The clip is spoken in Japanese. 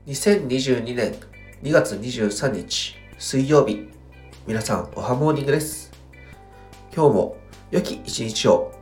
2022年2月23日水曜日、皆さんおはモーニングです。今日も良き一日を